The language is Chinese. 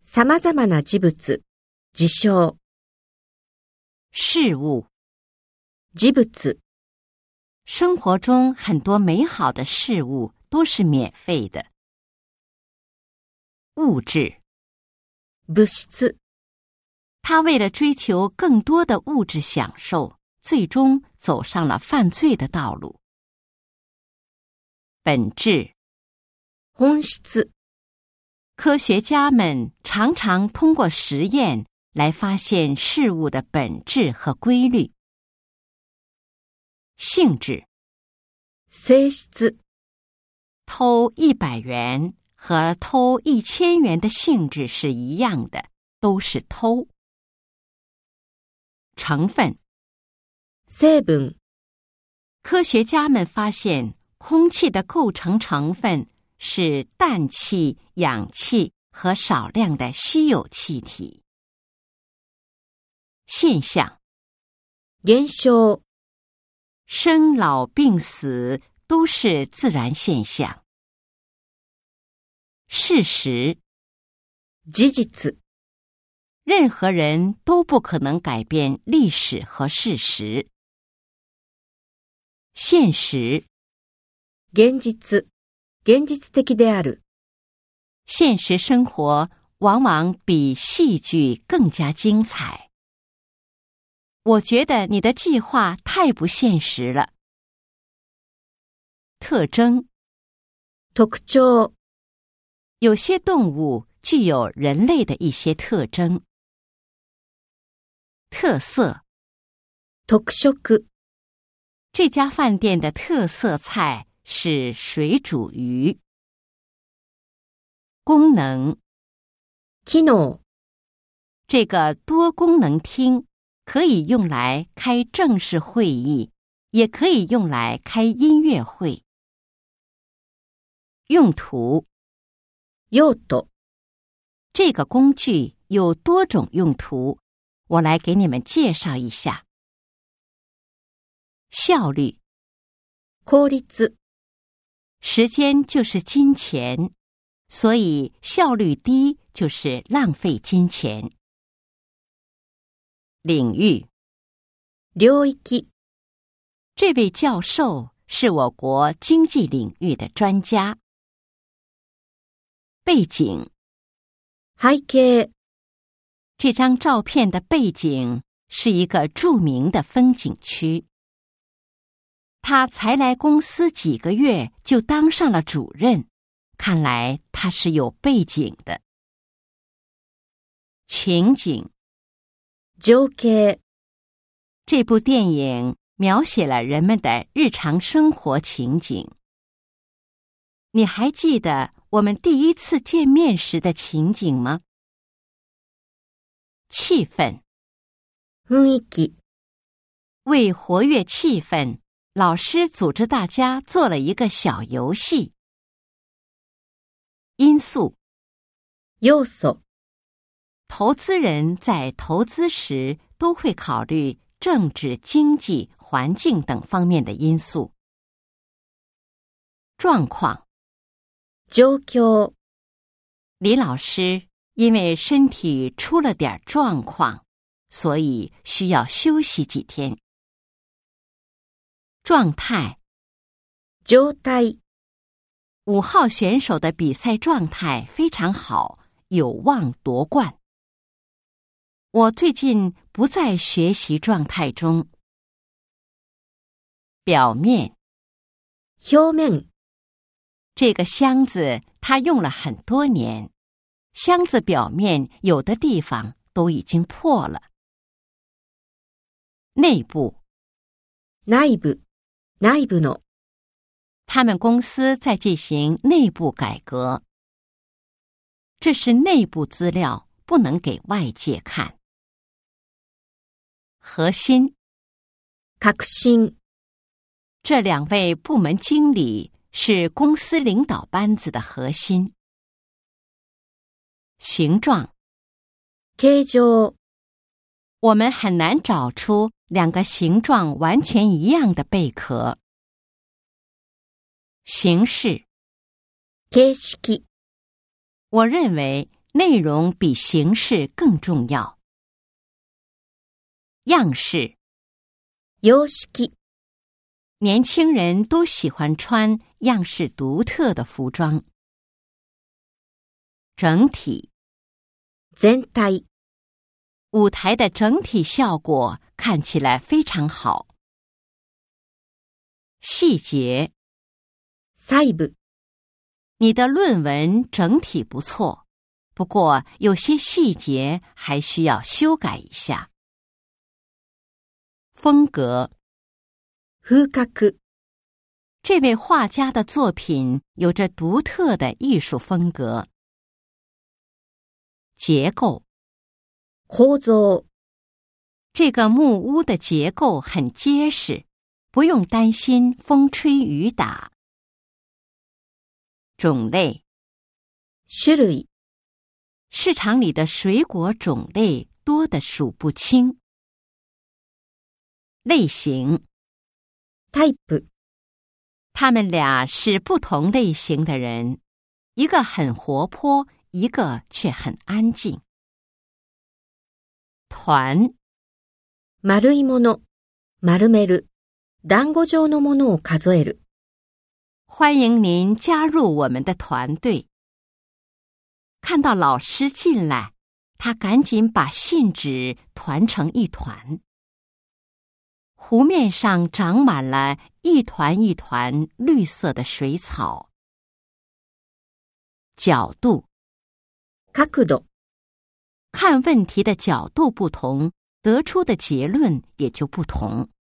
様々な事物、事象、 事物。 事物、 生活中很多美好的事物都是免费的。物质。 物質、 他为了追求更多的物质享受，最终走上了犯罪的道路。本质。 本質、 科学家们常常通过实验来发现事物的本质和规律。性质。 性質、 偷100元和偷1000元的性质是一样的，都是偷。成分。 成分、 科学家们发现空气的构成成分是氮气、氧气和少量的稀有气体。现象。 現象、 生老病死都是自然现象。事实。 事実、 任何人都不可能改变历史和事实。现实。 現実、現実的である。 现实生活往往比戏剧更加精彩。我觉得你的计划太不现实了。特征。 特徴、 有些动物具有人类的一些特征。特色。 特色。 这家饭店的特色菜是水煮鱼。功能。 機能、 这个多功能厅可以用来开正式会议，也可以用来开音乐会。用途。 用途、 这个工具有多种用途，我来给你们介绍一下。效率。 効率、 时间就是金钱，所以效率低就是浪费金钱。领域。 領域、 这位教授是我国经济领域的专家。背景。 背景。 这张照片的背景是一个著名的风景区。他才来公司几个月就当上了主任，看来他是有背景的。情景。 情景。 这部电影描写了人们的日常生活情景。你还记得我们第一次见面时的情景吗？气氛。 雰囲気。 为活跃气氛，老师组织大家做了一个小游戏。因素。 要素。 投资人在投资时都会考虑政治、经济、环境等方面的因素。状况。 状況。 李老师因为身体出了点状况，所以需要休息几天。状态。 状態。 5号选手的比赛状态非常好，有望夺冠。我最近不在学习状态中。表面。 表面。 这个箱子它用了很多年，箱子表面有的地方都已经破了。内部。 内部。内部の。 他们公司在进行内部改革。这是内部资料，不能给外界看。核心。 核心。 这2位部门经理是公司领导班子的核心。形状。 形状。 我们很难找出2个形状完全一样的贝壳。形式。 形式。 我认为内容比形式更重要。样式， 様式、 年轻人都喜欢穿样式独特的服装。整体， 全体、 舞台的整体效果看起来非常好。细节， 細部、 你的论文整体不错，不过有些细节还需要修改一下。风格， 風格、 这位画家的作品有着独特的艺术风格。结构， 構造、 这个木屋的结构很结实，不用担心风吹雨打。种类， 種類、 市场里的水果种类多得数不清。类型， タイプ、 他们俩是不同类型的人，一个很活泼，一个却很安静。团， 丸いもの、丸める、団子状のものを数える。 欢迎您加入我们的团队。看到老师进来，他赶紧把信纸团成一团。湖面上长满了一团一团绿色的水草。角度， 角度、 看问题的角度不同，得出的结论也就不同。